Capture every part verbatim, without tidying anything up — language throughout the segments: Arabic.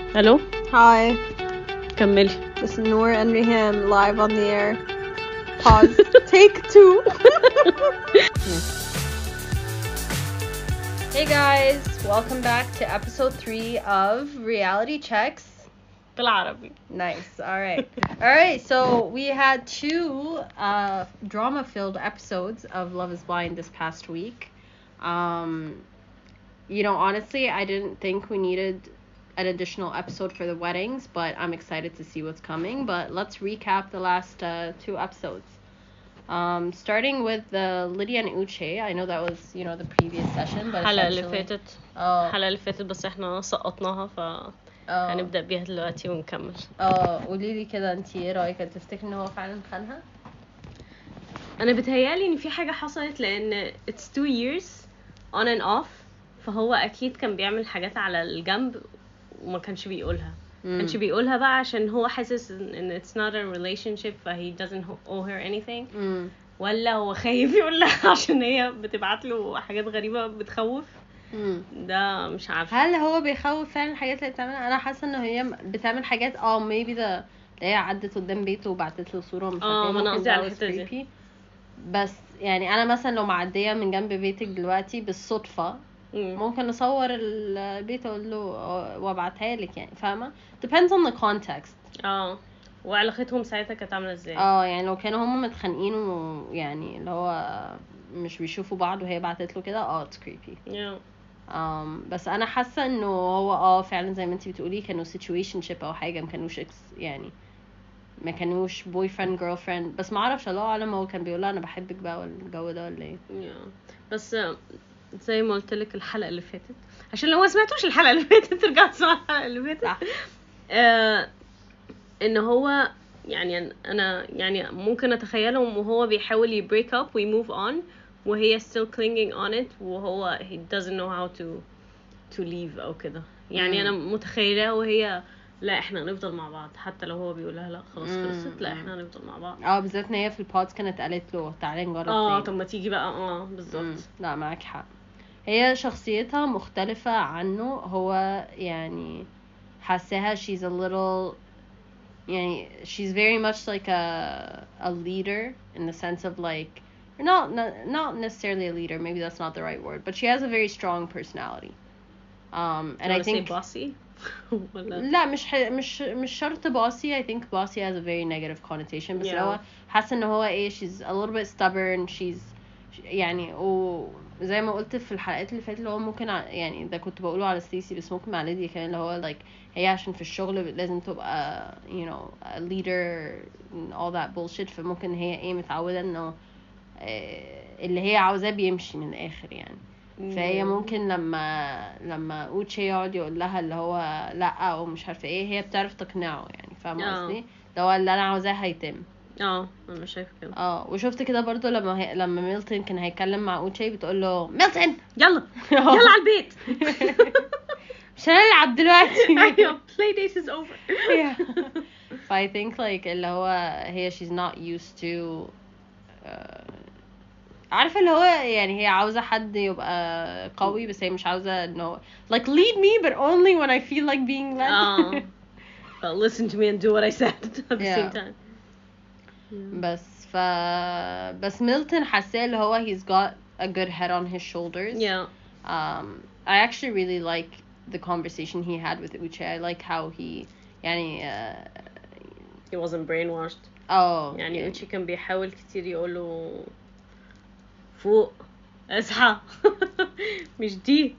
الو Hi, كملي. this is Noor and Riham live on the air. Pause. Take two. Hey guys, welcome back to episode three of Reality Checks. بالعربي. Nice. All right. All right. So we had two uh, drama-filled episodes of Love is Blind this past week. Um, you know, honestly, I didn't think we needed an additional episode for the weddings, but I'm excited to see what's coming. But let's recap the last uh, two episodes. Um, starting with the Lydia and Uche. I know that was, you know, the previous session, but الحلقة اللي essentially- فاتت اه الحلقة اللي فاتت بس احنا سقطناها ف اه هنبدأ بيها دلوقتي ونكمل. اه قولي لي كده، انتي ايه رايك؟ تفتكري ان هو فعلا خانها؟ انا بتهيالي ان في حاجة حصلت لان it's two years on and off، فهو اكيد كان بيعمل حاجات على الجنب وما كانش بيقولها. ما كانش بيقولها بقى عشان هو حاسس ان it's not a relationship ف he doesn't owe her anything، امم ولا هو خايف يقول لها عشان هي بتبعت له حاجات غريبة بتخوف. امم ده مش عارفة. هل هو بيخوف فعلا الحاجات اللي بتعملها؟ انا حاسه ان هي بتعمل حاجات اه maybe the اللي هي عدت قدام بيته وبعتت له صوره مش اه، عارفه ما انا ممكن قصدي على that was الحتة دي. creepy. بس يعني انا مثلا لو معديه من جنب بيتك دلوقتي بالصدفه مم. ممكن اصور البيت اقول له وابعتها لك، يعني فاهمه؟ depends on the context. اه، وعلاقتهم ساعتها كانت عامله ازاي؟ اه يعني لو كانوا هم متخانقين ويعني اللي هو مش بيشوفوا بعض وهي بعتت له كده اه it's creepy. yeah. um, بس انا حاسه انه هو اه فعلا زي ما انتي بتقولي كانوا situationship او حاجه، ما كانوش ex- يعني ما كانوش boyfriend girlfriend. بس ما اعرفش، الله اعلم هو كان بيقول لها انا بحبك بقى ولا الجو ده ولا ايه. yeah. بس آه، زي ما قلت لك الحلقه اللي فاتت، عشان لو ما سمعتوش الحلقه اللي فاتت ترجعوا تسمعوا الحلقه اللي فاتت. صح. آه ان هو يعني انا يعني ممكن اتخيله وهو بيحاول ي break up و move on وهي still clinging on it وهو he doesn't know how to to leave او كده. يعني انا متخيله وهي لا احنا هنفضل مع بعض حتى لو هو بيقول لها لا خلاص خلصت، لا احنا هنفضل مع بعض. اه بالذات ان هي في البودز كانت قالت له تعالى نجرب اه تاني. طب ما تيجي بقى. اه مم. بالظبط. لا معاك حق، هي شخصيتها مختلفة عنه. هو يعني حاساها she's a little يعني she's very much like a a leader in the sense of like not not not necessarily a leader, maybe that's not the right word, but she has a very strong personality. Um and I think bossy ولا لا مش ح... مش مش شرط bossy. I think bossy has a very negative connotation. بس Yeah. لو حاسه ان هو ايه she's a little bit stubborn. she's يعني وزي ما قلت في الحلقات اللي فاتت اللي هو ممكن ع- يعني ده كنت بقوله على ستيسي بس ممكن مع ليديا كمان اللي هو like هي عشان في الشغل لازم تبقى you know a leader and all that bullshit. فممكن هي ايه متعودة انه آه، اللي هي عاوزاه بيمشي من الاخر يعني. فهي ممكن لما لما اوتشي يقعد يقول لها اللي هو لا او مش عارفه ايه هي بتعرف تقنعه يعني، فاهمه آه. قصدي؟ اللي هو اللي انا عاوزاه هيتم. اه انا شايفه كده. اه وشفت كده برضو لما هي... لما ميلتون كان هيتكلم مع اوتشي بتقول له ميلتون يلا يلا على البيت. مش هنلعب دلوقتي. ايوه play date is over. Yeah. ف I think like اللي هو هي she's not used to uh, عارفه اللي هو يعني هي عاوزه حد يبقى قوي بس هي مش عاوزه انه like lead me but only when I feel like being led. اه but listen to me and do what I said at the Yeah. same time. بس ف بس ميلتون حاسه اللي هو he's got a good head on his shoulders. Yeah. um I actually really like the conversation he had with Uche. I like how he يعني uh, he wasn't brainwashed. اه يعني اوتشي كان بيحاول كتير يقوله فوق اصحى مش دي،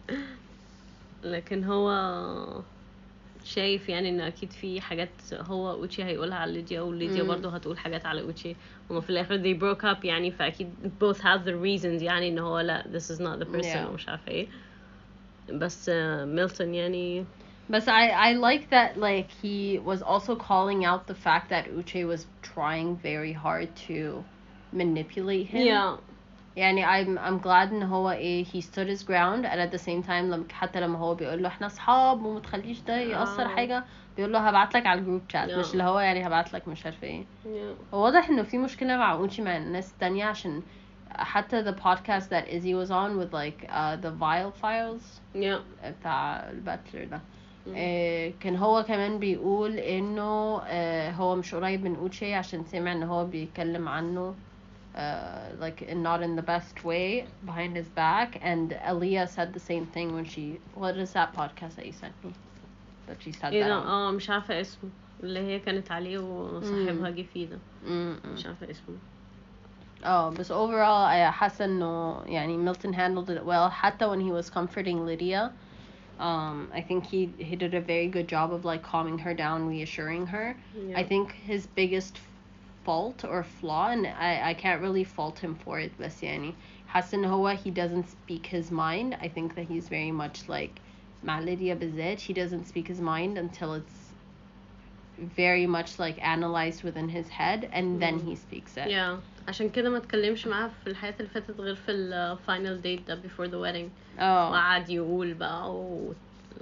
لكن هو شايف يعني ان اكيد في حاجات هو اوتشي هيقولها على ليديا وليديا مم. برضه هتقول حاجات على اوتشي وما في الاخر they broke up يعني، فاكيد both have the reasons يعني ان هو لا this is not the person Yeah. ومش عارفه ايه. بس ميلتون يعني But I I like that like he was also calling out the fact that Uche was trying very hard to manipulate him. yeah يعني I'm I'm glad ان هو ايه he stood his ground and at the same time لما حتى لما هو بيقول له احنا اصحاب وما تخليش ده يأثر آه. حاجة بيقول له هبعت لك على الجروب شات Yeah. مش اللي هو يعني هبعت لك مش عارفه ايه. yeah هو واضح انه في مشكلة مع اوتشي مع الناس التانية عشان حتى the podcast that Izzy was on with like uh, the Vile Files yeah بتاع الباتلر ده آه، كان هو كمان بيقول انه آه، هو مش قريب من اوتشي عشان سمع ان هو بيتكلم عنه uh, like in not in the best way behind his back, and Aaliyah said the same thing when she, what is that podcast that you sent me that she said ايه that ده؟ on. اه مش عارفة اسمه، اللي هي كانت عليه وصاحبها جه فيه ده، Mm-mm. مش عارفة اسمه. اه بس overall I حاسة انه يعني Milton handled it well حتى when he was comforting Lydia. um I think he he did a very good job of like calming her down, reassuring her. Yeah. I think his biggest fault or flaw, and I I can't really fault him for it, بس يعني حاسة ان هو he doesn't speak his mind. I think that he's very much like مع Lydia بالذات, he doesn't speak his mind until it's very much like analyzed within his head and then he speaks it. Yeah. عشان كده ما اتكلمش معاها في الحياة اللي فاتت غير في ال final date ده before the wedding. اه وقعد يقول بقى و...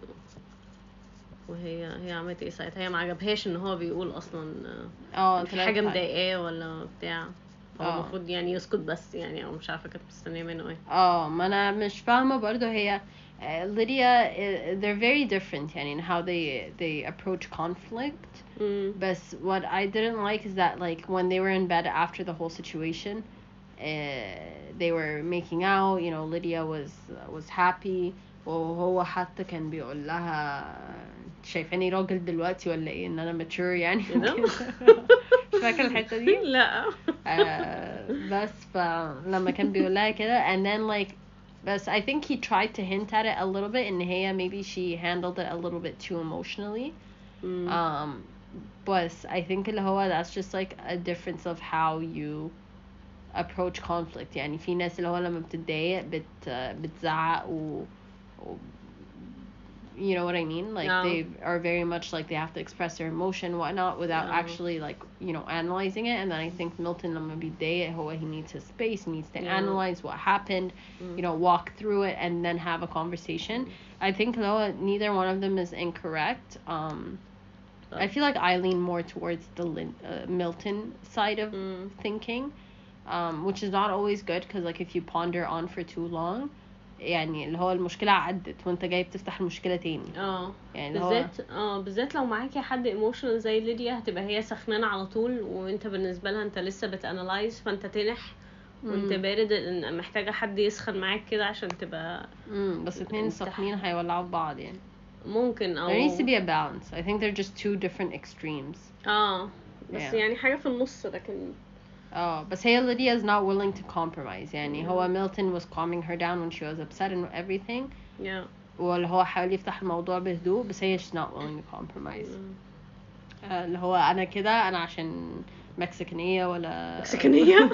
وهي هي عملت ايه ساعتها؟ هي ما عجبهاش ان هو بيقول اصلا اه في حاجة مضايقاه ولا بتاع، هو اه المفروض يعني يسكت بس يعني، او مش عارفة كانت مستنية منه ايه. اه ما انا مش فاهمة برضو هي uh, Lydia, uh, they're very different يعني in how they they approach conflict. Mm. But what I didn't like is that like when they were in bed after the whole situation, uh, they were making out, you know, Lydia was uh, was happy, وهو حتى كان بيقول لها شايفاني راجل دلوقتي ولا ايه ان انا mature يعني كده. مش فاكرة الحتة دي؟ لا. uh, بس فلما كان بيقول لها كده and then like بس I think he tried to hint at it a little bit ان هي maybe she handled it a little bit too emotionally. Mm. um but I think اللي هو that's just like a difference of how you approach conflict. يعني في ناس اللي هو لما بتتضايق بت بتزعق و, و you know what I mean, like No. they are very much like they have to express their emotion whatnot without No. actually like you know analyzing it. And then I think Milton لما بيتضايق هو he needs his space, he needs to Yeah. analyze what happened, Mm. you know, walk through it and then have a conversation. Mm. I think though neither one of them is incorrect. um I feel like I lean more towards the Lin- uh, Milton side of Mm. thinking, um, which is not always good because like if you ponder on for too long, يعني اللي هو المشكلة عدت وانت جاي بتفتح المشكلة تاني. اه يعني اللي هو بالذات اه بالذات لو معاكي حد ايموشنال زي ليديا، هتبقى هي سخنانه على طول وانت بالنسبه لها انت لسه بتانلايز، فانت تنح وانت مم. بارد، إن محتاجه حد يسخن معاك كده عشان تبقى امم بس اتنين انت- سخنين هيولعوا في بعض يعني. ممكن او There needs to be a balance. I think they're just two different extremes. اه بس Yeah. يعني حاجه في النص، لكن اه بس هي Lydia is not willing to compromise. يعني Yeah. هو Milton was calming her down when she was upset and everything. yeah. واللي هو حاول يفتح الموضوع بهدوء بس هي she's not willing to compromise. Mm. آه، اللي هو انا كده انا عشان مكسيكانية ولا مكسيكانية؟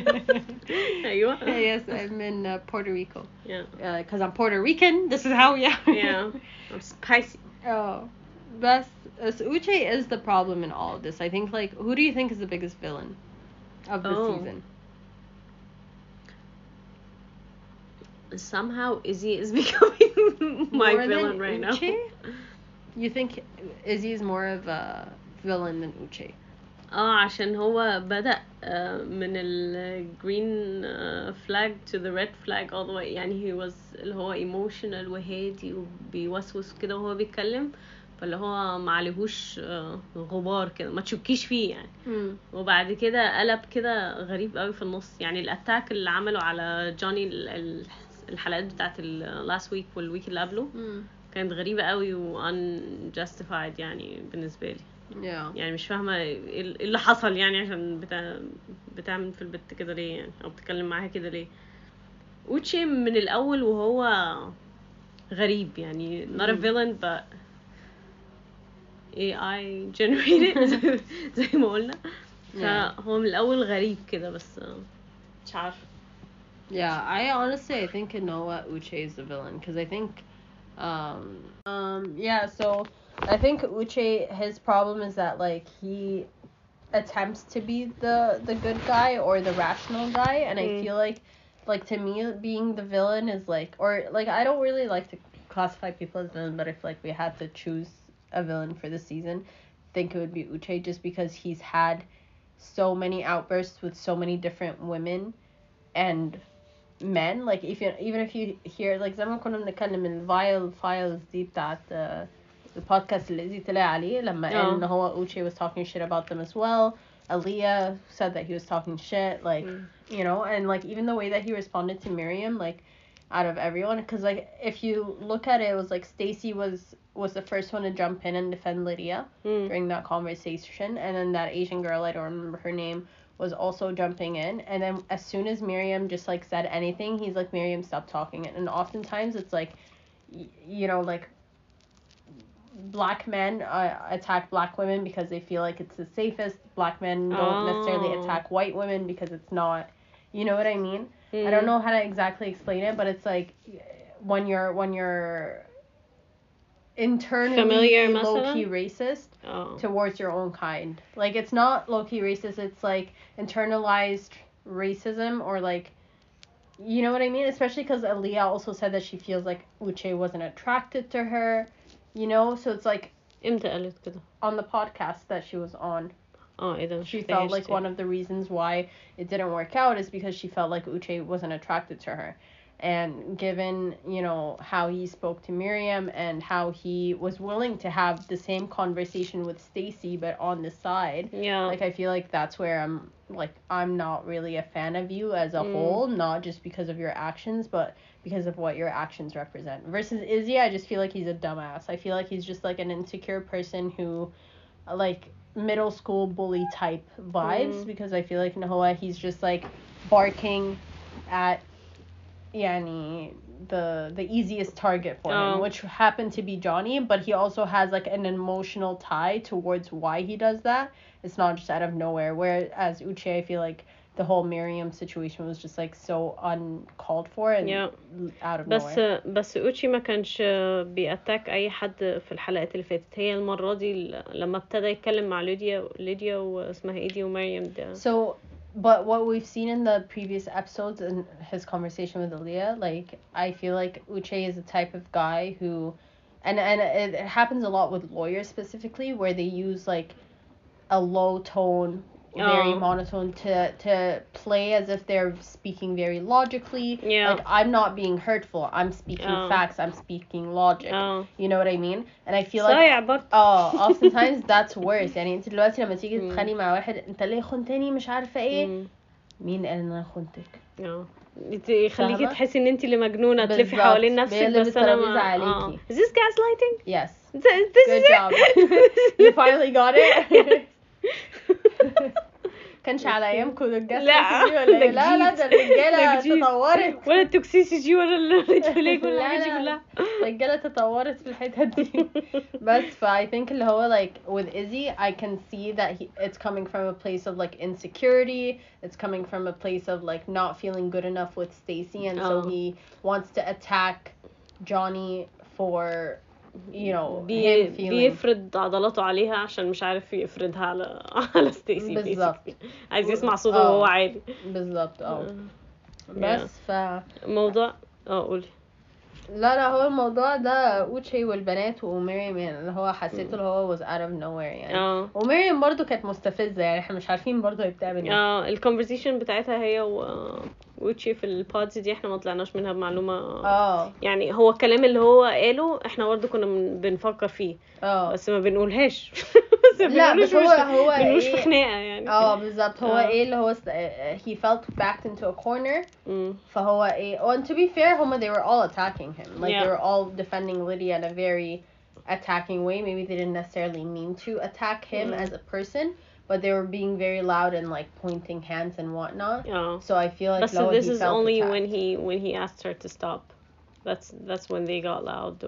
ايوه. yes I'm in uh, Puerto Rico. yeah uh, cause I'm Puerto Rican, this is how we are. yeah I'm spicy. oh بس uh, Uche is the problem in all of this. I think like who do you think is the biggest villain of the Oh. season? Somehow Izzy is becoming my More villain than right Uche? now. You think Izzy is more of a villain than Uche? اه عشان هو بدأ آه، من ال green آه، flag to the red flag all the way، يعني he was اللي هو emotional وهادي وبيوسوس كده وهو بيتكلم، فاللي هو معلهوش آه، غبار كده ما تشكيش فيه يعني. Hmm. وبعد كده قلب كده غريب قوي في النص، يعني الاتاك اللي عمله على جوني ال- ال- الحلقات بتاعت ال last week والويك اللي قبله Hmm. كانت غريبة قوي و unjustified يعني بالنسبة لي. Yeah. يعني مش فاهمة ايه إيه اللي حصل يعني عشان بتا... بتعمل في البت كده ليه يعني، او بتتكلم معاها كده ليه. اوتشي من الاول وهو غريب يعني not a مم. villain but إيه آي generated زي- زي ما قلنا، Yeah. فهو من الاول غريب كده بس مش عارفة. Yeah, I honestly I think Noah Uche is the villain because I think um um yeah, so I think Uche, his problem is that like he attempts to be the the good guy or the rational guy, and I Mm. feel like like to me being the villain is like, or like I don't really like to classify people as villains, but if like we had to choose a villain for the season, I think it would be Uche just because he's had so many outbursts with so many different women and men. Like if you even if you hear like زي ما كنا بنتكلم ال vial files دي بتاعت uh, the podcast اللي إزي طلع عليه لما قال إن هو Uche was talking shit about them as well. Aaliyah said that he was talking shit, like, mm. you know, and like even the way that he responded to Miriam, like, out of everyone, because like if you look at it, it was like Stacey was was the first one to jump in and defend Lydia mm. during that conversation, and then that Asian girl, I don't remember her name, was also jumping in, and then as soon as Miriam just like said anything, he's like, Miriam, stop talking. And oftentimes it's like, y- you know, like black men uh, attack black women because they feel like it's the safest. Black men don't oh. necessarily attack white women because it's not, you know what I mean? Mm. I don't know how to exactly explain it, but it's like when you're when you're internally low-key racist oh. towards your own kind. Like, it's not low-key racist, it's like internalized racism, or like, you know what I mean? Especially because Aaliyah also said that she feels like Uche wasn't attracted to her, you know? So it's like on the podcast that she was on. Oh, she felt like one of the reasons why it didn't work out is because she felt like Uche wasn't attracted to her. And given, you know, how he spoke to Miriam and how he was willing to have the same conversation with Stacey but on the side, yeah, like I feel like that's where I'm like I'm not really a fan of you as a mm. whole, not just because of your actions but because of what your actions represent. Versus Izzy, I just feel like he's a dumbass. I feel like he's just like an insecure person who, like, middle school bully type vibes, mm. because I feel like Nahoa, he's just like barking at Yani the the easiest target for oh. him, which happened to be Johnny, but he also has like an emotional tie towards why he does that. It's not just out of nowhere. Whereas Uche, I feel like the whole Miriam situation was just like so uncalled for and yeah. out of بس nowhere. بس اوتشي ما كانش بيأتاك اي حد في الحلقات اللي فاتت. هي المرة دي لما ابتدى يتكلم مع ليديا ليديا واسمها ايدي ومريم ده. So but what we've seen in the previous episodes and his conversation with Aaliyah, like, I feel like Uche is the type of guy who, and and it, it happens a lot with lawyers specifically, where they use like a low tone, very oh. monotone to to play as if they're speaking very logically. Yeah. Like, I'm not being hurtful. I'm speaking oh. facts. I'm speaking logic. Oh. You know what I mean? And I feel like but... oh, oftentimes that's worse. يعني انت دلوقتي لما تيجي تتخانقي مع واحد انت ليه خنتني مش عارفه ايه مين قال ان انا خنتك؟ اه يخليكي تحسي ان انت اللي مجنونه تلفي حوالين نفسك بس انا ما اه. Is this gaslighting? Yes. This Good job. You finally got it. كانش على ايامكم الجسد لا لا لا لا ده الرجاله تطورت ولا التوكسيسيتي ولا الريد ولا الحاجات دي كلها. الرجاله تطورت في الحتت دي بس ف I think اللي هو like with Izzy I can see that he, it's coming from a place of like insecurity, it's coming from a place of like not feeling good enough with Stacey, and oh. so he wants to attack Johnny for you know بي بيفرض عضلاته عليها عشان مش عارف يفرضها على على ستيسي بالظبط. عايز يسمع صوته وهو عالي بالظبط. اه بس ف موضوع اه قولي. لا لا هو الموضوع ده اوتشي والبنات ومريم يعني اللي هو حسيته اللي هو was out of nowhere يعني اه. ومريم برضو كانت مستفزة يعني احنا مش عارفين برضو هي بتعمل ايه. اه الكونفرسيشن بتاعتها هي و وتشي في البودز دي احنا ما طلعناش منها بمعلومه اه. يعني هو الكلام اللي هو قاله احنا برضه كنا بنفكر فيه اه بس ما بنقولهاش. لا بس هو هو ايه في خناقه يعني اه بالظبط. هو ايه اللي هو he felt backed into a corner م. فهو ايه and to be fair هما they were all attacking him like yeah. they were all defending Lydia in a very attacking way. Maybe they didn't necessarily mean to attack him م. as a person, but they were being very loud and like pointing hands and whatnot. Yeah. So I feel like but so this is only attacked. when he when he asked her to stop. That's that's when they got loud.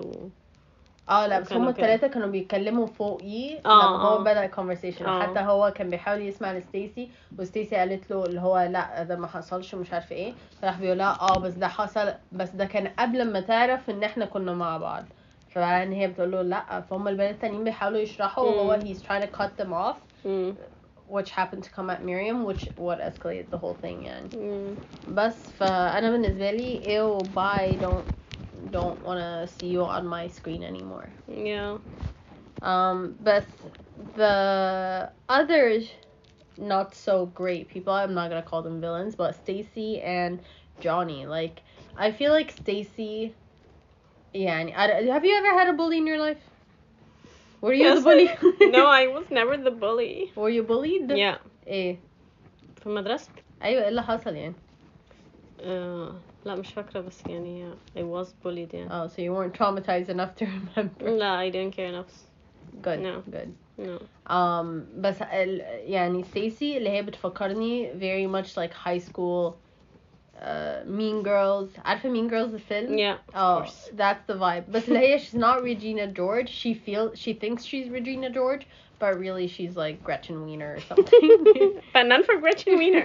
اه لا بس هما الثلاثة كانوا بيتكلموا فوقيه لما هو بدأ الكونفرسيشن. حتى هو كان بيحاول يسمع لستيسي وستيسي قالت له اللي هو لا ده ما حصلش ومش عارف ايه فراح بيقول لها اه بس ده حصل بس ده كان قبل ما تعرف ان احنا كنا مع بعض. فبعدين هي بتقول له لا فهم البنات التانيين بيحاولوا يشرحوا وهو he's trying to cut them off mm. which happened to come at Miriam which what escalated the whole thing يعني mm. بس فأنا بالنسبة لي ew bye don't don't want to see you on my screen anymore. Yeah. Um but the other not so great people, I'm not going to call them villains, but Stacey and Johnny, like I feel like Stacey يعني have you ever had a bully in your life? Were you the bully? No, I was never the bully. Were you bullied? Yeah. ايه في المدرسة. ايوه ايه اللي حصل يعني؟ آه لا مش فاكرة بس يعني I was bullied يعني. Oh, so you weren't traumatized enough to remember. لا I didn't care enough. Good. No. Good. No. Um, بس ال, يعني ستيسي اللي هي بتفكرني very much like high school uh, Mean Girls. عارفة Mean Girls الفيلم؟ Yeah, of oh, course. that's the vibe. بس اللي هي she's not Regina George. She feels she thinks she's Regina George, but really she's like Gretchen Wiener or something. But none for Gretchen Wiener.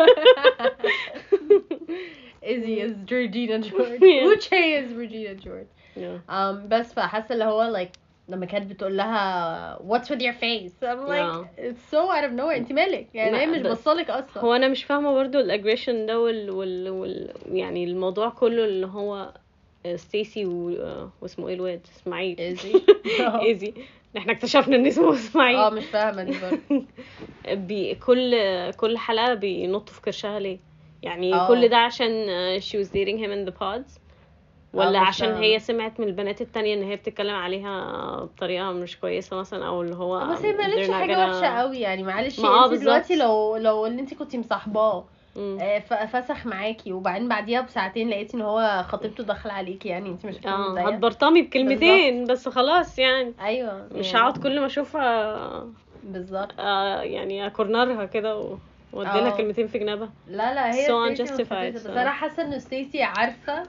Izzy is Regina George. Yeah. Uche is Regina George. Yeah. Um, بس فحاسة اللي هو like لما كانت بتقول لها what's with your face I'm like Yeah. it's so out of nowhere انت مالك يعني هي لا، مش بس بصلك اصلا. هو انا مش فاهمه برضو الاجريشن ده وال... وال... وال... يعني الموضوع كله اللي هو ستيسي و... واسمه ايه الواد اسماعيل إيزي. ايزي احنا اكتشفنا ان اسمه اسماعيل. اه مش فاهمه دي برضه. بي... كل كل حلقه بينطوا في كرشها ليه يعني؟ اه. كل ده عشان uh, she was dating him in the pods ولا مش عشان فاهمة. هي سمعت من البنات التانية ان هي بتتكلم عليها بطريقة مش كويسة مثلا او اللي هو بس هي ما قالتش they're not حاجه gonna- وحشه قوي يعني معلش ما اه انت دلوقتي بالظبط. لو لو اللي انت كنتي مصاحباه مم. آه، ف- فسخ معاكي وبعدين بعديها بساعتين لقيتي ان هو خطيبته داخله عليكي يعني انت مش هتكوني اه متضايقه. هتبرطمي بكلمتين بس خلاص يعني ايوه مش يعني هقعد كل ما اشوفها بالظبط. آه يعني اكورنرها كده و- واديلها اه. كلمتين في جنابها. لا لا هي So ستيسي unjustified, مستفزة بس so. انا حاسه ان ستيسي عارفه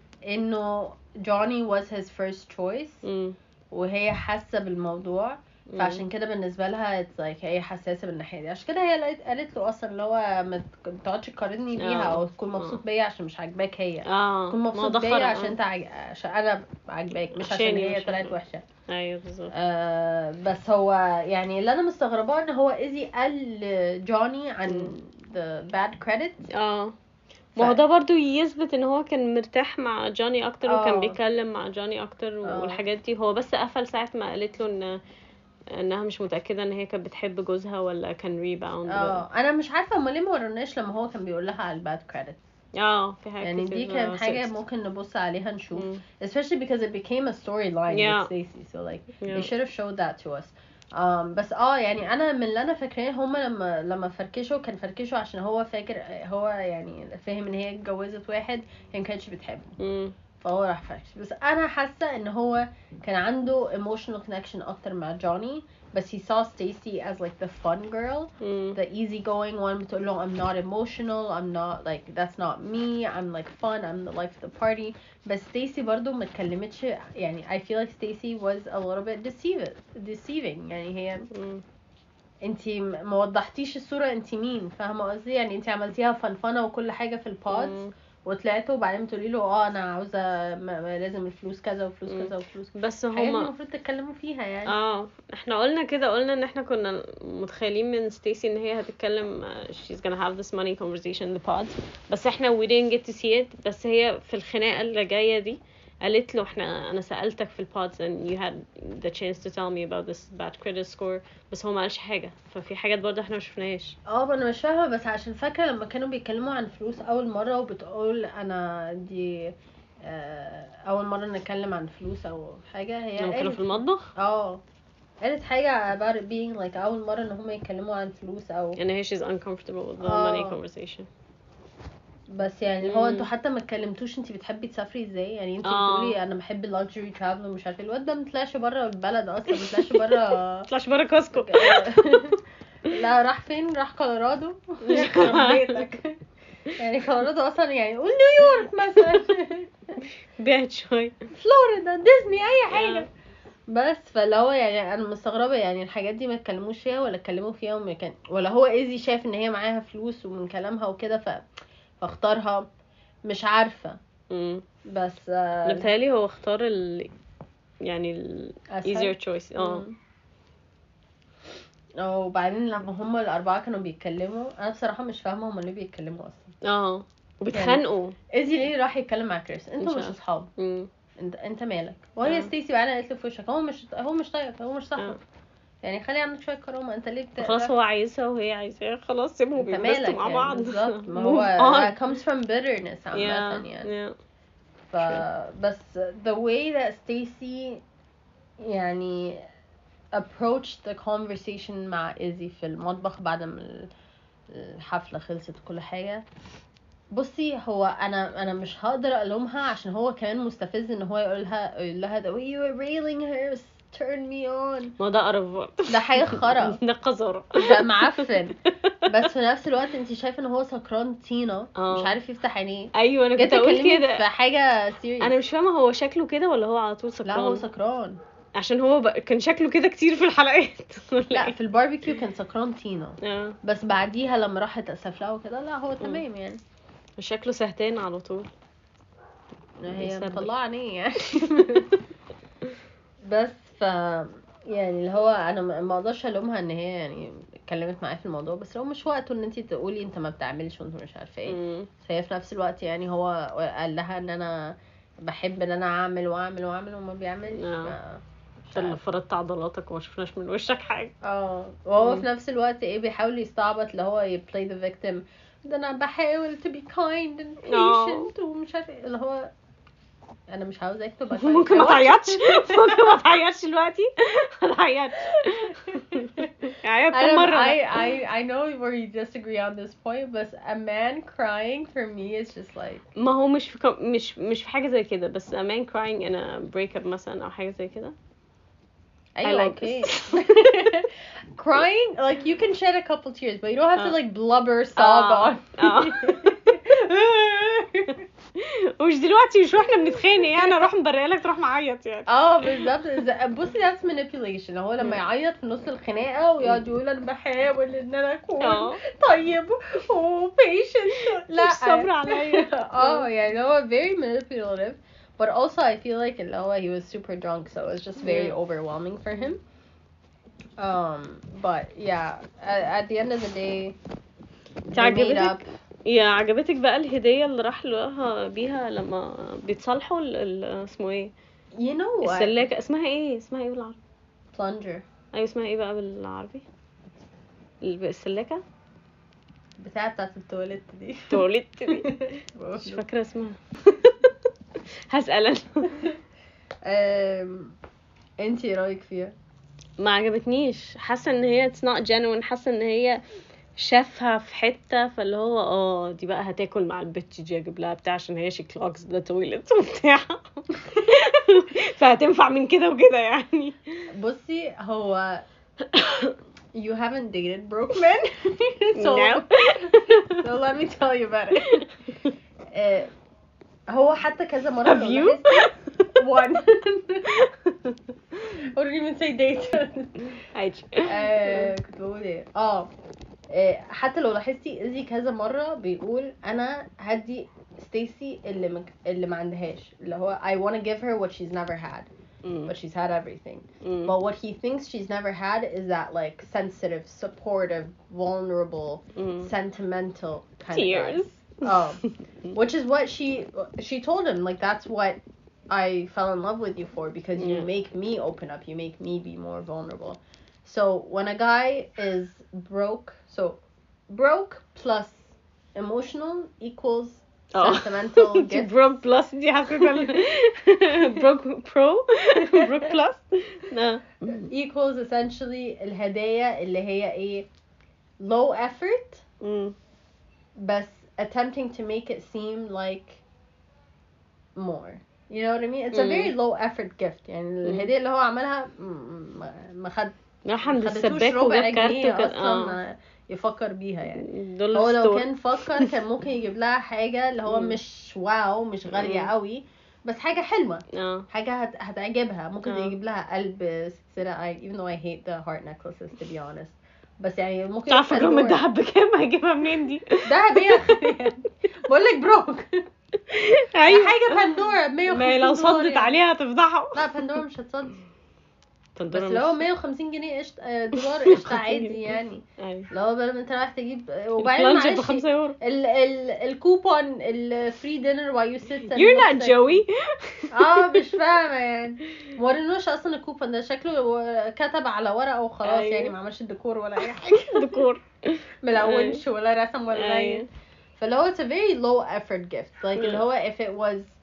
انه جوني was his first choice مم. وهي حاسه بالموضوع مم. فعشان كده بالنسبه لها it's like هي حساسه بالناحيه دي عشان كده هي قالت- قالت له اصلا اللي هو ما تك- ما تقعدش تقارني بيها آه. او تكون مبسوط بيا عشان مش عاجباك هي اه تكون ما مبسوط ده بيا خرا، عشان آه. انت عج... عشان انا عاجباك مش عشان عشاني هي مش طلعت عشان- وحشه. ايوه بالظبط. آه بس هو يعني اللي انا مستغرباه ان هو ايزي قال جوني عن مم. the bad credit. اه ف- ما هو ده برضو يثبت ان هو كان مرتاح مع جوني اكتر وكان آه. بيتكلم مع جوني اكتر آه. والحاجات دي. هو بس قفل ساعة ما قالت له ان انها مش متأكدة ان هي كانت بتحب جوزها ولا كان ريباوند. اه انا مش عارفه هما ليه ما وروناش لما هو كان بيقول لها على الباد كريدت اه في حاجة يعني دي كتير كانت حاجه sexed. ممكن نبص عليها نشوف مم. especially because it became a storyline Yeah. with Stacey so like Yeah. they should have showed that to us. um بس اه يعني انا من اللي انا فاكراه هما لما لما فركشوا كان فركشوا عشان هو فاكر هو يعني فاهم ان هي اتجوزت واحد هي ما كانتش بتحبه مم. فهو راح فركش بس انا حاسه ان هو كان عنده emotional connection اكتر مع جوني بس he saw Stacey as like the fun girl مم. the easygoing one بتقول له I'm not emotional I'm not like that's not me I'm like fun I'm the life of the party بس Stacey برضو ما اتكلمتش يعني I feel like Stacey was a little bit deceiving deceiving يعني هي مم. انتي ما وضحتيش الصورة انتي مين فاهمة قصدي يعني انتي عملتيها فنفنة وكل حاجة في البودز مم. وطلعتوا وبعدين تقولي له اه انا عاوزة ما- ما لازم الفلوس كذا وفلوس مم. كذا وفلوس كذا بس الحاجات دي هما المفروض تتكلموا فيها يعني اه احنا قلنا كده قلنا ان احنا كنا متخيلين من ستيسي ان هي هتتكلم uh, she's gonna have this money conversation in the pods بس احنا we didn't get to see it. بس هي في الخناقة اللي جاية دي قالت له احنا انا سألتك في البودز and you had the chance to tell me about this bad credit score بس هو ما قالش حاجة ففي حاجات برضه احنا ما شفناهاش. اه انا مش فاهمة بس عشان فاكرة لما كانوا بيتكلموا عن فلوس اول مرة وبتقول انا دي آه، اول مرة نتكلم عن فلوس او حاجة هي لما كانوا قالت في المطبخ اه قالت حاجة about it being like اول مرة ان هم يتكلموا عن فلوس او ان هي she's uncomfortable with the آه. money conversation. بس يعني هو مم. انتوا حتى ما اتكلمتوش انتي بتحبي تسافري ازاي يعني انتي آه. بتقولي انا بحب اللكجري ترافل ومش عارفه الواد ده ما طلعش بره البلد اصلا ما طلعش بره طلعش برا كوسكو. لا راح فين راح كولورادو يخرب بيتك يعني كولورادو اصلا يعني قول نيويورك مثلا بعد شوي. فلوريدا ديزني اي حاجه بس فاللي هو يعني انا مستغربه يعني الحاجات دي ما اتكلموش فيها ولا اتكلموا فيها وما كان ولا هو ايزي شايف ان هي معاها فلوس ومن كلامها وكده ف فاختارها مش عارفه مم. بس انا آه بتهيألي هو اختار ال يعني ال أسهل. easier choice. اه مم. وبعدين لما هم الاربعه كانوا بيتكلموا انا بصراحه مش فاهمه هم ليه بيتكلموا اصلا اه وبيتخانقوا. ايزي ليه راح يتكلم مع كريس انتوا مش مش عارفة. اصحاب مم. انت انت مالك وهي آه. ستيسي وعلا قالت له في وشك هو مش هو مش طايقك هو مش آه. صاحبك يعني خلي عندك شويه كرامه انت ليه بت... خلاص هو عايزها وهي عايزاه خلاص سيبهم انت بينبسطوا مالك مع يعني بعض. بالظبط ما Move هو on. that comes from bitterness عامه yeah يعني yeah ف بس the way that Stacy يعني approached the conversation مع إيزي في المطبخ بعد ما الحفلة خلصت وكل حاجة. بصي هو انا انا مش هقدر الومها عشان هو كمان مستفز ان هو يقولها يقول لها the way you were railing her turn me on. ما ده قرف ده حاجة خرا. ده قذارة. ده معفن. بس في نفس الوقت انت شايفه ان هو سكران طينه آه. مش عارف يفتح عينيه. ايوه انا جيت كنت اقول اكلمك كده. في حاجه سيريس. انا مش فاهمه هو شكله كده ولا هو على طول لا سكران. هو سكران. عشان هو بقى كان شكله كده كتير في الحلقات. لا في الباربيكيو كان سكران طينه. اه بس بعديها لما راحت اسف لها وكده لا هو تمام يعني. شكله سهتان على طول. هي بيسبب. مطلعه عينيه يعني. بس ف يعني اللي هو انا ما ما اقدرش الومها ان هي يعني اتكلمت معايا في الموضوع بس هو مش وقته ان انت تقولي انت ما بتعملش وانت مش عارفه ايه. مم. بس هي في نفس الوقت يعني هو قال لها ان انا بحب ان انا اعمل واعمل واعمل وما بيعملش. آه. ف- مش انت اللي عارفة. فرضت عضلاتك وما شفناش من وشك حاجه. اه وهو مم. في نفس الوقت ايه بيحاول يستعبط اللي هو ي play the victim. ده انا بحاول to be kind and patient ومش عارفه ايه اللي هو انا مش عاوزاك تبقى kind. ممكن ما تعيطش. ممكن ما تعيطش دلوقتي. ما تعيطش. عيط I كم don't- مره. I I I know we disagree on this point but a man crying for me is just like ما هو مش في كم... مش مش في حاجه زي كده بس a man crying in a breakup مثلا او حاجه زي كده. أيوة like okay. Crying like you can shed a couple tears but you don't have to آه. like blubber sob آه. on. آه. ومش دلوقتي مش واحنا بنتخانق يعني اروح مبرق لك تروح معيط يعني. اه بالظبط. ز- بصي that's manipulation. هو لما يعيط في نص الخناقه ويقعد يقول انا بحاول ان انا اكون اه طيب و patient. لا مش صبر عليا. اه يعني هو very manipulative but also I feel like اللي هو he was super drunk so it was just very Yeah. overwhelming for him. Um but yeah at, at the end of the day they made عجبتك up. يا عجبتك بقى الهدية اللي راح لها بيها لما بيتصالحوا ال- ال- اسمه ايه you know what السلاكة اسمها ايه اسمها ايه بالعربي؟ plunger ايوه اسمها ايه بقى بالعربي؟ الب- السلاكة بتاعة بتاعة التواليت دي. توليت دي مش فاكرة اسمها. هسأل انا. أم... انتي رايك فيها؟ ما عجبتنيش حاسة ان هي it's not genuine. حاسة ان هي شافها في حتة فاللي هو اه دي بقى هتاكل مع البت دي اجيب لها بتاع عشان هي she clogs the toilet وبتاع. فهتنفع من كده وكده يعني. بصي هو you haven't dated broke men. so, No. so let me tell you about it. آه، هو حتى كذا مرة Have لو you? لاحظتي- one. I wouldn't even say date. عادي. آه، كنت بقول ايه اه آه، حتى لو لاحظتي إيزي كذا مرة بيقول انا هدي ستيسي اللي مك... اللي ما عندهاش اللي هو I want to give her what she's never had Mm. but she's had everything. Mm. But what he thinks she's never had is that like sensitive, supportive, vulnerable, Mm. sentimental kind Tears. of guy. Oh, which is what she she told him like that's what I fell in love with you for because you Yeah. make me open up, you make me be more vulnerable. So when a guy is broke, so broke plus emotional equals Oh. sentimental gifts. Broke plus دي حسيت broke pro broke plus no. equals essentially الهدايا اللي هي ايه low effort Mm. بس attempting to make it seem like more. You know what I mean? It's a Mm. very low effort gift. يعني الهدية اللي هو عملها م- ما ما خد راح عند ما خدتوش السباك ربع وجاب كارت جنيه وكان اصلا يفكر بيها يعني. دول هو لو ستور. كان فكر كان ممكن يجيب لها حاجة اللي هو مم. مش واو مش غالية مم. قوي بس حاجة حلوة اه حاجة هت... هتعجبها ممكن آه. يجيب لها قلب سلسلة I, even though I hate the heart necklaces to be honest بس يعني ممكن تعرف يجيب الرقم بندورة. الدهب بكام هجيبها منين دي؟ دهب ايه بقول لك بروك ايوه حاجة بندورة مية ما وخمسين لو دولار صدت يعني. عليها هتفضحه. لا بندورة مش هتصدي بس بندورة لو مش- مية وخمسين جنيه قشط آه، دولار قشطة عادي يعني ايوه لو بدل ما انت رايح تجيب وبعدين البلانجر معلش بخمسة يورو. ال ال الكوبون الفري دينر while you sit and You're look not sexy. Joey. اه مش فاهمة يعني مورينوش اصلا الكوبون ده شكله كتب على ورقة وخلاص أيوة. يعني ما عملش الديكور ولا اي حاجة ديكور. ملونش ولا رسم ولا أيوة. اي فاللي هو it's a very low effort gift like اللي Yeah. هو if it was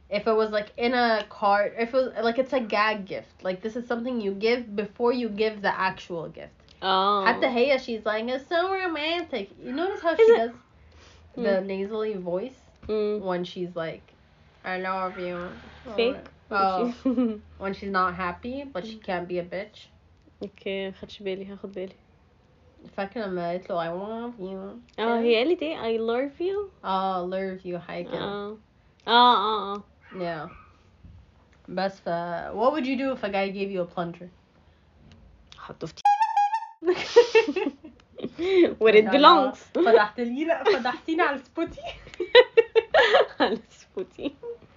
if it was like in a card, if it was like it's a gag gift, like this is something you give before you give the actual gift. اه حتى هي she's like it's so romantic. You notice how Is she it- does the nasally voice مم. when she's like I love you. fake Oh, when she's not happy but she can't be a bitch. اوكي مخدش بالي هاخد بالي. فاكرة لما قالت له I love you. اه هي قالت ايه I love you. اه love you حاجة كده. اه اه اه اه Yeah. بس ف what would you do if a guy gave you a plunger? حطه في where it belongs. فتحت لي لا فتحتيني على سبوتي. على سبوتي.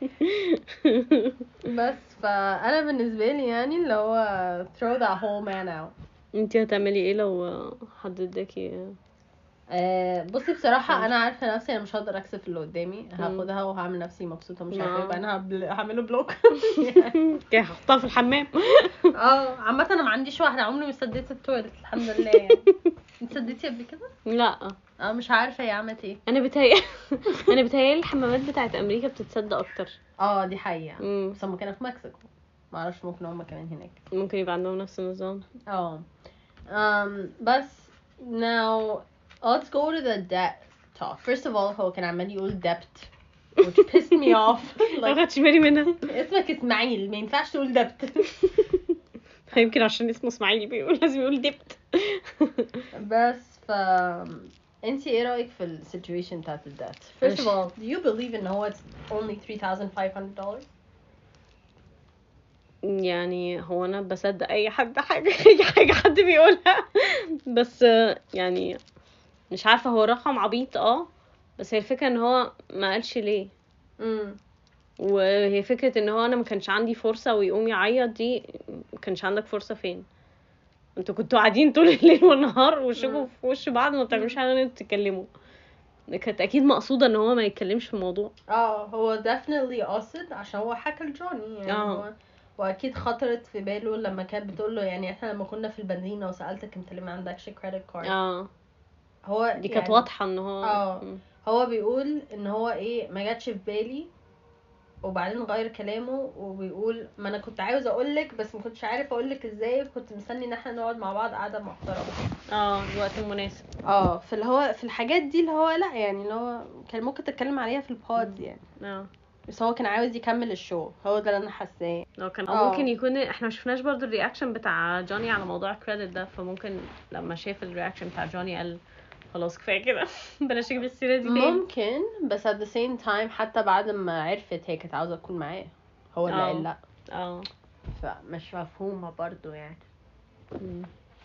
بس فانا بالنسبه لي يعني اللي هو throw that whole man out. انتي هتعملي ايه لو حد اداكي؟ آه بصي بصراحه انا عارفه نفسي انا مش هقدر اكسف اللي قدامي، هاخدها وهعمل نفسي مبسوطه مش عارفه يبقى انا هبل... هعمله بلوك. كده هحطها في الحمام. اه عامه انا ما عنديش واحده عمري ما سديت التواليت الحمد لله يعني. انت سديتي قبل كده؟ لا اه مش عارفه هي عملت ايه. انا بتهيأ انا بتهيألي الحمامات بتاعت امريكا بتتصدق اكتر. اه دي حقيقه. مم. بس هم كانوا في مكسيكو ما اعرفش ممكن هم كمان هناك. ممكن يبقى عندهم نفس النظام. اه um بس now let's go to the debt talk. First of all هو كان عمال يقول debt which pissed me off. ما like خدتش بالي منها. اسمك اسماعيل ما ينفعش تقول debt. يمكن عشان اسمه اسماعيل بيقول لازم يقول دبت. بس ف انتي ايه رأيك في ال situation بتاعت ال debt? First of all do you believe ان هو it's only three thousand five hundred dollars? يعني هو انا بصدق اي حد حاجه اي حاجه حد بيقولها، بس يعني مش عارفه هو رقم عبيط اه، بس هي الفكره ان هو ما قالش ليه. امم وهي فكره ان هو انا ما كانش عندي فرصه ويقوم يعيط، دي ما كانش عندك فرصه فين؟ انتوا كنتوا قاعدين طول الليل والنهار وشكوا في وش بعض ما بتعملوش حاجه غير تتكلموا. كانت اكيد مقصوده ان هو ما يتكلمش في الموضوع. اه هو definitely قاصد عشان هو حكى لجوني يعني. اه. هو واكيد خطرت في باله لما كانت بتقول له يعني احنا لما كنا في البنزينة وسألتك انت ليه ما عندكش credit card. اه هو دي كانت يعني واضحه ان هو اه م. هو بيقول ان هو ايه ما جاتش في بالي وبعدين غير كلامه وبيقول ما انا كنت عاوز اقولك بس ما كنتش عارف اقولك ازاي، كنت مستني ان احنا نقعد مع بعض قعده محترمه. اه الوقت المناسب. اه في اللي هو في الحاجات دي اللي هو لا يعني اللي هو كان ممكن تتكلم عليها في البود يعني. اه بس هو كان عاوز يكمل الشو، هو ده اللي انا حاساه. لو كان اه. او ممكن يكون احنا ما شفناش برضو الرياكشن بتاع جوني على موضوع الكريدت ده، فممكن لما شاف الرياكشن بتاع جوني قال خلاص كفايه كده بلاش اجيب السيره دي تاني. ممكن بس at the same time حتى بعد ما عرفت هي كانت عاوزه تكون معاه هو اللي اه. قال لا، اه فمش مفهومه برضو يعني. م.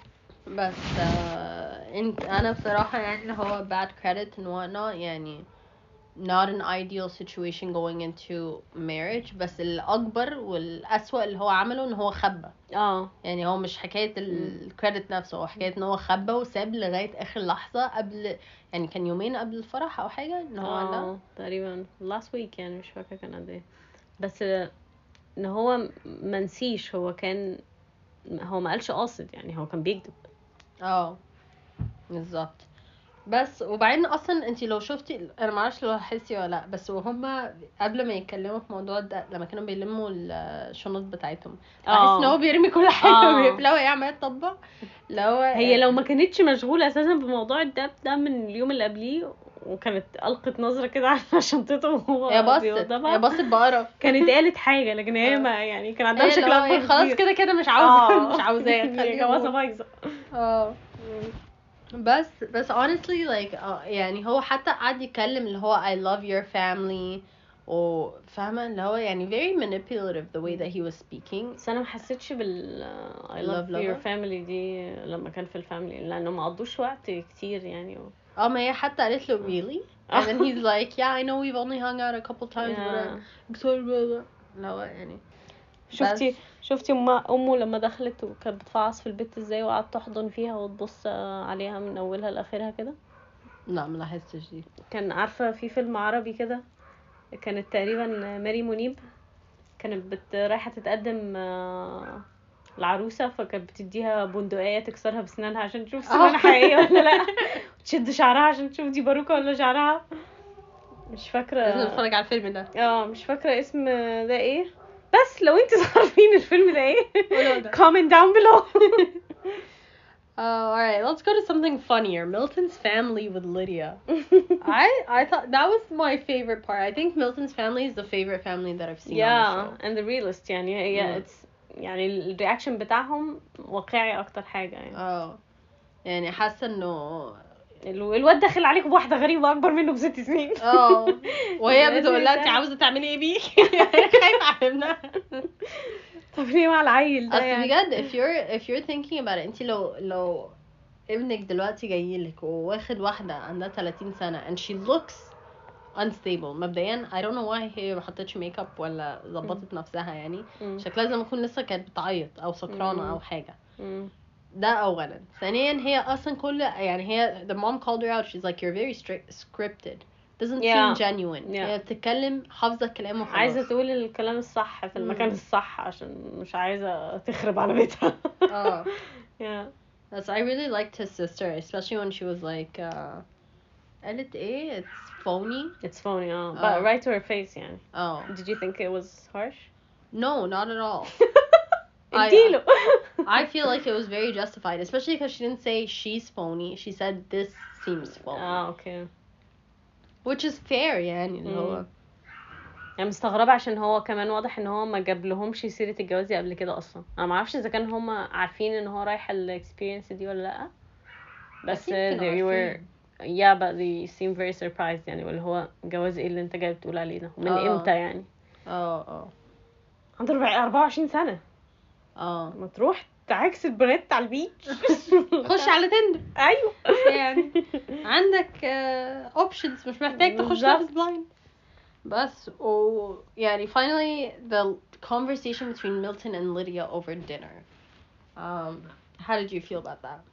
بس آه انت انا بصراحة يعني اللي هو bad credit and whatnot يعني not an ideal situation going into marriage. بس الأكبر والأسوأ اللي هو عمله ان هو خبى. اه يعني هو مش حكاية الكريدت نفسه، هو حكاية ان هو خبى وساب لغاية اخر لحظة قبل يعني كان يومين قبل الفرح او حاجة ان هو لا. اه تقريبا last week يعني مش فاكره كان قد ايه، بس ان هو منسيش هو كان هو ما قالش قاصد يعني هو كان بيكذب. اه بالظبط. بس وبعدين اصلا انتي لو شفتي انا ما اعرفش لو حسي ولا لا، بس وهما قبل ما يتكلموا في موضوع ده لما كانوا بيلموا الشنط بتاعتهم بحس ان هو بيرمي كل حاجه آه. وبيقفلها وهي عماله تطبق. لو هي لو ما كانتش مشغوله اساسا بموضوع الدب ده من اليوم اللي قبليه وكانت القت نظره كده على شنطته وهو هي بصت بيوضبها، هي بصت بقرف كانت قالت حاجه لكن هي ما يعني كان عندها هي شكل لو هي اكبر خلاص كتير. كده كده مش عاوزه آه. مش عاوزاه هي خليه جوازه يموت. بايظه. اه بس بس honestly like uh, يعني هو حتى قعد يتكلم اللي هو I love your family وفاهمه اللي هو يعني very manipulative the way that he was speaking. بس انا ما حسيتش بال I love Love your lover. family دي لما كان في الفاميلي لانه ما قضوش وقت كتير يعني و... اه ما هي حتى قالت له really and then he's like yeah I know we've only hung out a couple times but Yeah. I'm excited about it. لا يعني شفتي بس شفتي امه امه لما دخلت وكانت بتفعص في البيت ازاي وقعدت تحضن فيها وتبص عليها من اولها لاخرها كده. لا ما لاحظتش دي. كان عارفه في فيلم عربي كده كانت تقريبا ماري منيب كانت بت رايحه تتقدم آه، العروسه فكانت بتديها بندقيه تكسرها بسنانها عشان تشوف سنانها حقيقيه ولا لا، تشد شعرها عشان تشوف دي باروكه ولا شعرها. مش فاكره لازم نتفرج على الفيلم ده. اه مش فاكره اسم ده ايه، بس لو انت عارفين الفيلم ده ايه قولوا ده. comment down below. Uh, all right, let's go to something funnier. Milton's family with Lydia. I I thought that was my favorite part. I think Milton's family is the favorite family that I've seen on the yeah show. and the realist يعني هي مم. it's يعني الرياكشن بتاعهم واقعي اكتر حاجه يعني. اه يعني حاسه انه ال- الواد داخل عليك بواحده غريبه اكبر منه بست سنين. اه وهي لازم بتقول لها انت يسأل. عاوزه تعملي ايه بيه؟ خايفه على ابنها. طب ليه مع العيل ده اصل يعني؟ بجد if you're if you're thinking about it, انت لو لو ابنك دلوقتي جايلك وواخد واحده عندها ثلاثين سنه and she looks unstable مبدئيا I don't know why هي ما حطتش ميك اب ولا ظبطت نفسها يعني مم. شكلها زي ما تكون لسه كانت بتعيط او سكرانه مم. او حاجه. مم. ده اولا. ثانيا هي اصلا كل يعني هي the mom called her out, she's like you're very strict scripted, doesn't Yeah. seem genuine. Yeah. هي بتتكلم حافظه الكلام وخلاص. عايزه تقول الكلام الصح في المكان مم. الصح عشان مش عايزه تخرب على بيتها. اه yeah That's I really liked his sister, especially when she was like uh قالت ايه it's phony. it's funny اه آه. but right to her face يعني. Oh did you think it was harsh? no, not at all. I- اديله. I feel like it was very justified, especially because she didn't say she's phony, she said this seems phony. اه اوكي. Which is fair يعني اللي هو مم. يعني مستغربه عشان هو كمان واضح ان هو ما جاب لهمش سيره الجواز دي قبل كده اصلا. انا ما اعرفش اذا كان هم عارفين ان هو رايح الاكسبيرينس دي ولا لا بس أكيد كانوا they were عارفين. yeah but they seem very surprised يعني واللي هو جواز ايه اللي انت جاي بتقول عليه ده من آه. امتى يعني. اه اه عنده أربعة وعشرين سنه اه ما تروح تعكس البنات على البيتش. خش على تندر ايوه يعني عندك اوبشنز مش محتاج تخش بالظبط. لابس بلايند بس. و يعني finally the conversation between Milton and Lydia over dinner. Um, how did you feel about that?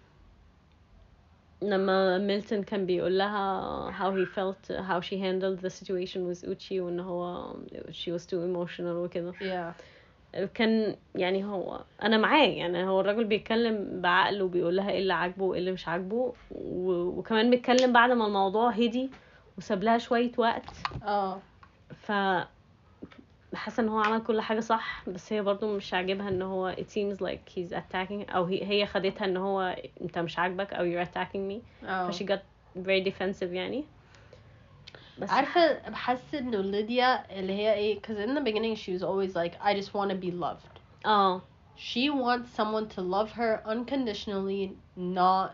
لما ميلتون كان بيقول لها how he felt how she handled the situation with Uchi وان هو she was too emotional وكده. Yeah. كان يعني هو انا معاه يعني هو الراجل بيتكلم بعقله وبيقول لها ايه اللي عاجبه وايه اللي مش عاجبه و... وكمان بيتكلم بعد ما الموضوع هدي وساب لها شويه وقت. اه ف حاسه ان هو عمل كل حاجه صح بس هي برضو مش عاجبها ان هو it seems like he's attacking او هي, هي خدتها ان هو انت مش عاجبك او you're attacking me. اه ف she got very defensive يعني. بس عارفة بحس انه ليديا اللي هي ايه cause in the beginning she was always like I just want to be loved. اه She wants someone to love her unconditionally, not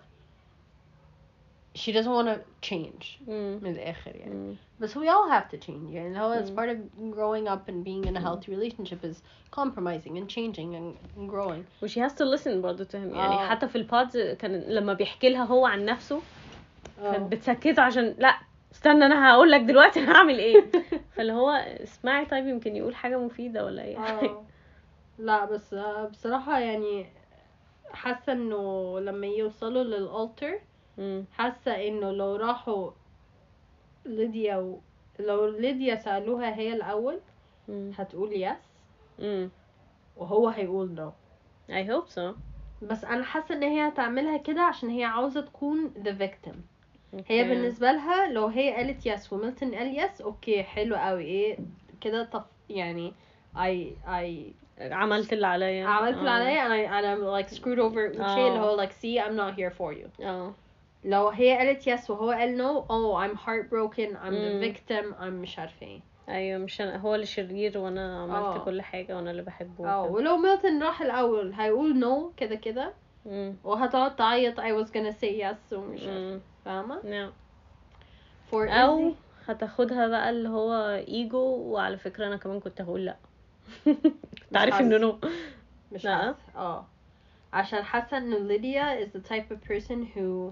she doesn't want to change مم. من الآخر يعني. مم. But we all have to change يعني اللي هو it's Mm. part of growing up and being in a healthy relationship is compromising and changing and, and growing. و she has to listen برضو to him يعني آه. حتى في البودز كان لما بيحكي لها هو عن نفسه كانت بتسكته عشان لا استنى انا هقول لك دلوقتي انا هعمل ايه. فاللي هو اسمعي طيب يمكن يقول حاجه مفيده ولا ايه. اه لا بس آه، بصراحة يعني حاسة انه لما يوصلوا للالتر مم. حاسة انه لو راحوا ليديا و... لو ليديا سألوها هي الأول مم. هتقول يس مم. وهو هيقول نو. I hope so. بس أنا حاسة إن هي هتعملها كده عشان هي عاوزة تكون the victim. هي Okay. بالنسبة لها لو هي قالت يس وميلتون قال يس اوكي حلو قوي ايه كده طف يعني I I عملت اللي عليا. عملت اللي آه. عليا and I and I'm like screwed over Uche آه. اللي هو like see I'm not here for you. اه لو هي قالت يس وهو قال no oh I'm heartbroken I'm the مم. victim I'm مش عارفة ايه. ايوه مش أنا هو اللي شرير وانا عملت آه. كل حاجه وانا اللي بحبه اه وكده. ولو ميلتون راح الأول هيقول no كده كده مم. وهتقعد تعيط I was gonna say yes ومش عارفة مم. فاهمة. نعم. for او Izzy هتاخدها بقى اللي هو ايجو وعلى فكره انا كمان كنت هقول لا. كنت عارف حاسة. انه نو. مش لا. حاسة اه عشان حاسة انه ليديا is the type of person who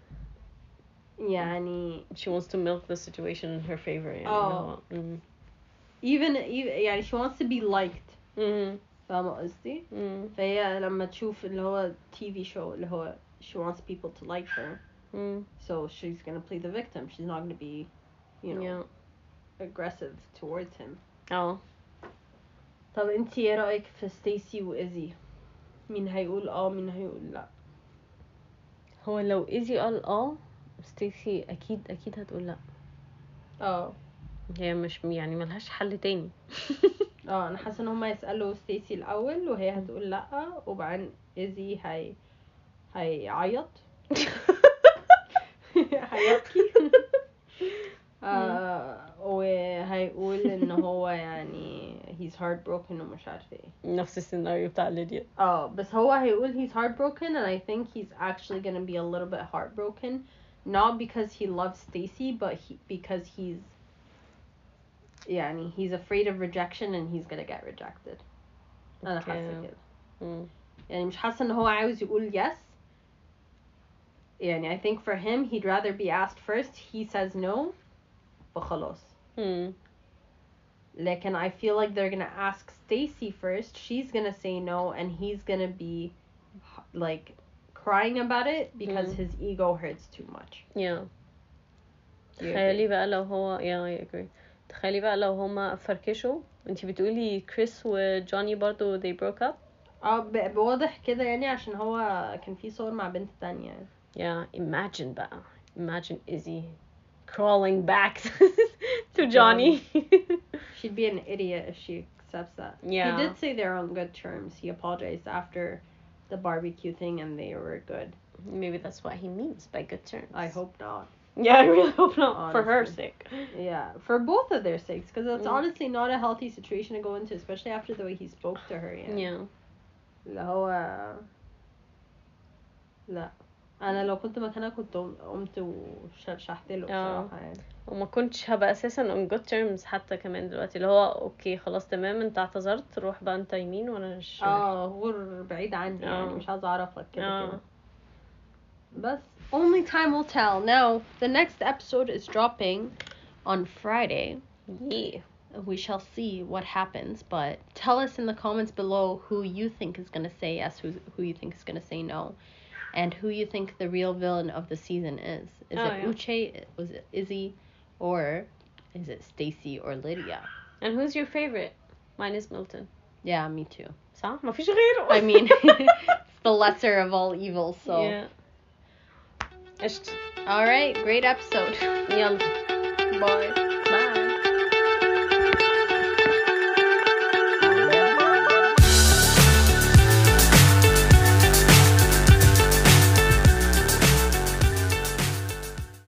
يعني she wants to milk the situation in her favor يعني. آه. اللي هو مم. even, even يعني she wants to be liked مم. فاهمة قصدي. مم. فهي لما تشوف اللي هو تي في show اللي هو she wants people to like her مم. so she's gonna play the victim, she's not gonna be you know Yeah. aggressive towards him. اه طب انتي ايه رأيك في ستيسي وإيزي؟ مين هيقول اه مين هيقول لا؟ هو لو ايزي قال اه ستيسي اكيد اكيد هتقول لا. اه هي مش يعني ملهاش حل تاني. اه انا حاسه ان هما يسالوا ستيسي الاول وهي هتقول لا، وبعدين ايزي هي هيعيط هيبكي آه وهيقول ان هو يعني he's heartbroken ومش عارفه ايه. نفس السيناريو بتاع ليديا. اه بس هو هيقول he's heartbroken and I think he's actually gonna be a little bit heartbroken, not because he loves Stacy but he, because he's يعني he's afraid of rejection and he's gonna get rejected. انا حاسه كده. مم. يعني مش حاسه ان هو عاوز يقول yes. يعني I think for him he'd rather be asked first, he says no فخلاص. مم. لكن I feel like they're gonna ask Stacy first, she's gonna say no and he's gonna be like crying about it because Mm. his ego hurts too much. Yeah. Do you تخيلي agree? بقى لو هو yeah I agree. تخيلي بقى لو هما فركشوا. انتي بتقولي كريس وجوني برضو they broke up. اه ب- بواضح كده يعني عشان هو كان في صور مع بنت تانية. Yeah, imagine بقى. Imagine Izzy crawling back to Johnny. She'd be an idiot if she accepts that. Yeah. He did say they're on good terms. He apologized after the barbecue thing and they were good. Maybe that's what he means by good terms. I hope not. Yeah, I really hope not. Honestly. For her sake. Yeah, for both of their sakes, because it's Mm. honestly not a healthy situation to go into, especially after the way he spoke to her. يعني. Yeah. اللي هو لا انا لو كنت مكانها كنت قمت وشرشحت له بصراحه يعني. وما كنتش هبقى اساسا on good terms حتى كمان دلوقتي اللي هو اوكي خلاص تمام انت اعتذرت روح بقى انت يمين وانا شمال. اه غور بعيد عني يعني آه. مش عايزه اعرفك كده آه. كده. بس only time will tell. Now the next episode is dropping on Friday. Yeah. We shall see what happens, but tell us in the comments below who you think is going to say yes, who who you think is going to say no, and who you think the real villain of the season is. Is Oh, it yeah. Uche, was it Izzy, or is it Stacy or Lydia? And who's your favorite? Mine is Milton. Yeah, me too. صح؟ ما فيش غيره. I mean, it's the lesser of all evils, so. Yeah. قشطة. All right, great episode. يلا. Bye.